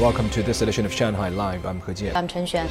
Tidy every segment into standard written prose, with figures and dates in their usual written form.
Welcome to this edition of Shanghai Live. I'm He Jian. I'm Chen Xuan.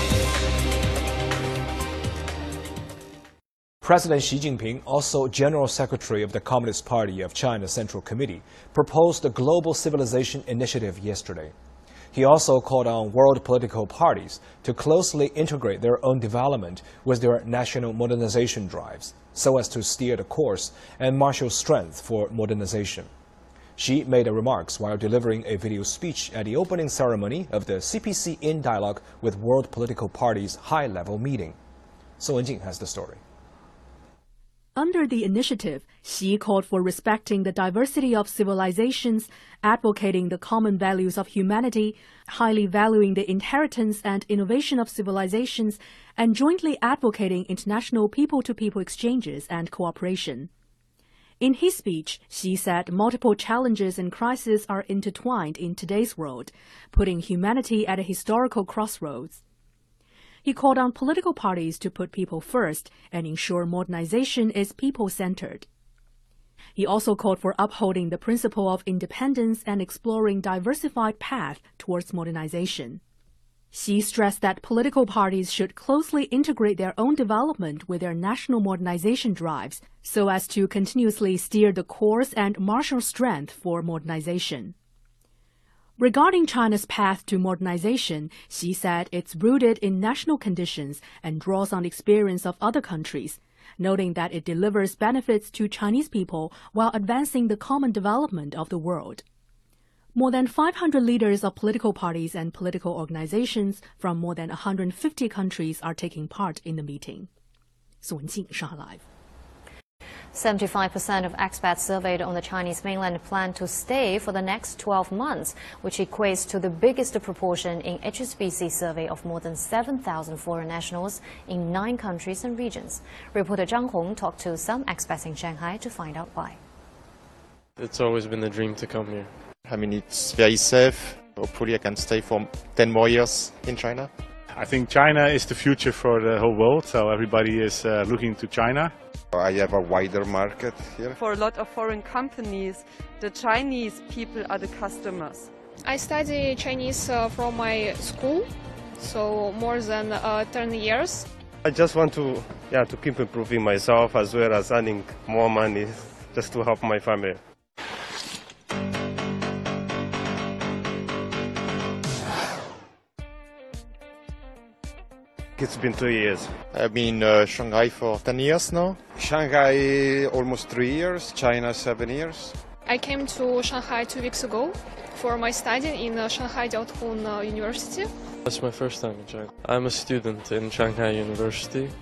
President Xi Jinping, also General Secretary of the Communist Party of China Central Committee, proposed the Global Civilization Initiative yesterday. He also called on world political parties to closely integrate their own development with their national modernization drives, so as to steer the course and marshal strength for modernization. Xi made the remarks while delivering a video speech at the opening ceremony of the CPC in Dialogue with World Political Parties high-level meeting. So Wenjing has the story. Under the initiative, Xi called for respecting the diversity of civilizations, advocating the common values of humanity, highly valuing the inheritance and innovation of civilizations, and jointly advocating international people-to-people exchanges and cooperation. In his speech, Xi said multiple challenges and crises are intertwined in today's world, putting humanity at a historical crossroads. He called on political parties to put people first and ensure modernization is people-centered. He also called for upholding the principle of independence and exploring diversified paths towards modernization. Xi stressed that political parties should closely integrate their own development with their national modernization drives so as to continuously steer the course and marshal strength for modernization. Regarding China's path to modernization, Xi said it's rooted in national conditions and draws on the experience of other countries, noting that it delivers benefits to Chinese people while advancing the common development of the world. More than 500 leaders of political parties and political organizations from more than 150 countries are taking part in the meeting. Su Wenjing, Shanghai Live. 75% of expats surveyed on the Chinese mainland plan to stay for the next 12 months, which equates to the biggest proportion in HSBC survey of more than 7,000 foreign nationals in 9 countries and regions. Reporter Zhang Hong talked to some expats in Shanghai to find out why. It's always been a dream to come here. I mean, it's very safe. Hopefully I can stay for 10 more years in China. I think China is the future for the whole world, so everybody is looking to China. I have a wider market here. For a lot of foreign companies, the Chinese people are the customers. I study Chinese from my school, so more than 10 years. I just want to keep improving myself as well as earning more money just to help my family. It's been 2 years. I've been in Shanghai for 10 years now. Shanghai almost 3 years, China 7 years. I came to Shanghai 2 weeks ago for my study in Shanghai Jiaotong University. That's my first time in China. I'm a student in Shanghai University.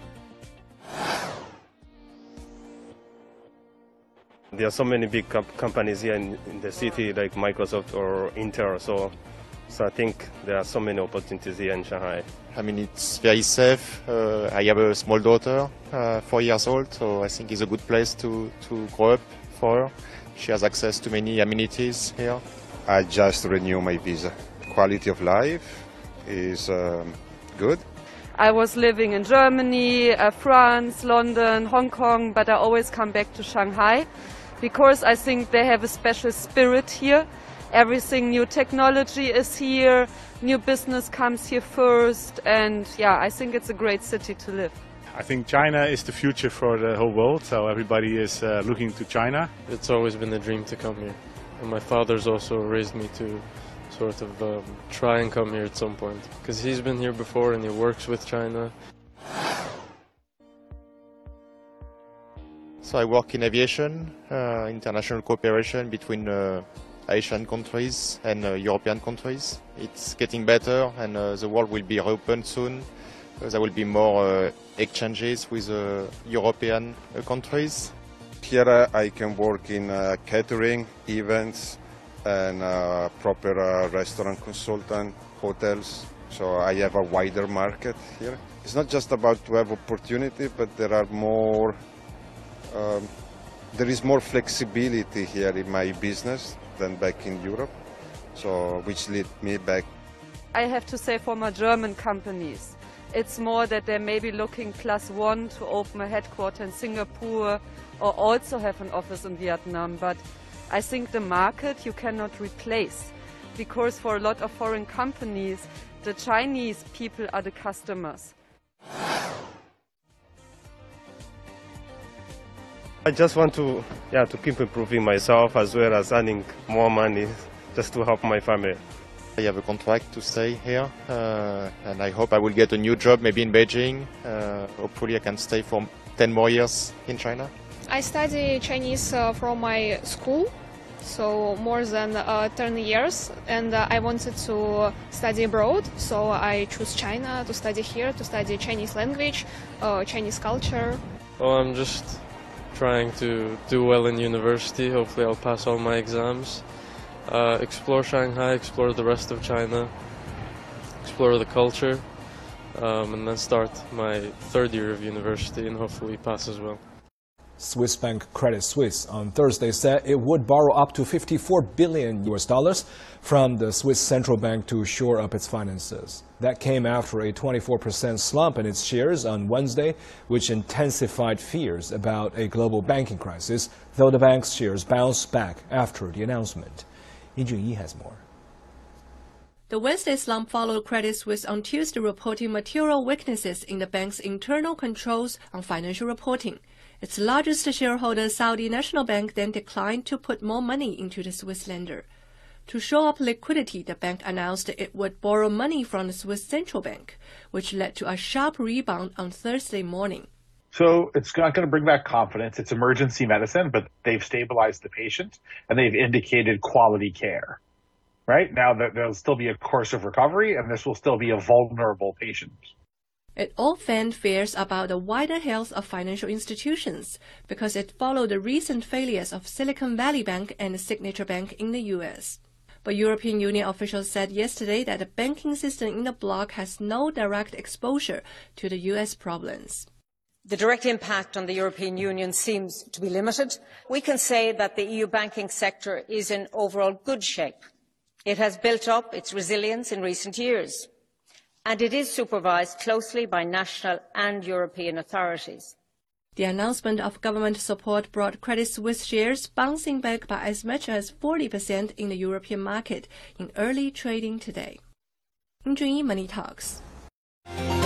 There are so many big companies here in the city like Microsoft or Intel, so I think there are so many opportunities here in Shanghai. I mean, it's very safe. I have a small daughter, 4 years old, so I think it's a good place to grow up for her. She has access to many amenities here. I just renew my visa. Quality of life is good. I was living in Germany, France, London, Hong Kong, but I always come back to Shanghai because I think they have a special spirit here. Everything, new technology is here, new business comes here first, and yeah, I think it's a great city to live. I think China is the future for the whole world, so everybody is looking to China. It's always been a dream to come here. And my father's also raised me to sort of try and come here at some point, because he's been here before and he works with China. So I work in aviation, international cooperation between Asian countries and European countries. It's getting better and the world will be open soon. There will be more exchanges with European countries. Here I can work in catering, events and proper restaurant consultant, hotels. So I have a wider market here. It's not just about to have opportunity, but there are more, there is more flexibility here in my business than back in Europe, so which led me back. I have to say for my German companies, it's more that they may be looking +1 to open a headquarter in Singapore or also have an office in Vietnam, but I think the market you cannot replace. because for a lot of foreign companies, the Chinese people are the customers. I just want to keep improving myself as well as earning more money just to help my family. I have a contract to stay here, and I hope I will get a new job, maybe in Beijing. Hopefully I can stay for 10 more years in China. I study Chinese from my school, so more than 10 years, and I wanted to study abroad, so I chose China to study here, to study Chinese language, Chinese culture. Well, I'm just trying to do well in university. Hopefully I'll pass all my exams. Explore Shanghai, explore the rest of China, explore the culture, and then start my third year of university and hopefully pass as well. Swiss bank Credit Suisse on Thursday said it would borrow up to $54 billion from the Swiss central bank to shore up its finances. That came after a 24% slump in its shares on Wednesday, which intensified fears about a global banking crisis, though the bank's shares bounced back after the announcement. Yin Junyi has more. The Wednesday slump followed Credit Suisse on Tuesday reporting material weaknesses in the bank's internal controls on financial reporting. Its largest shareholder, Saudi National Bank, then declined to put more money into the Swiss lender. To shore up liquidity, the bank announced it would borrow money from the Swiss central bank, which led to a sharp rebound on Thursday morning. So it's not going to bring back confidence. It's emergency medicine, but they've stabilized the patient and they've indicated quality care. Right? Now there'll still be a course of recovery and this will still be a vulnerable patient. It all fanned fears about the wider health of financial institutions because it followed the recent failures of Silicon Valley Bank and Signature Bank in the U.S. But European Union officials said yesterday that the banking system in the bloc has no direct exposure to the U.S. problems. The direct impact on the European Union seems to be limited. We can say that the EU banking sector is in overall good shape. It has built up its resilience in recent years, and it is supervised closely by national and European authorities. The announcement of government support brought Credit Suisse shares bouncing back by as much as 40% in the European market in early trading today. Yin Junyi, Money Talks.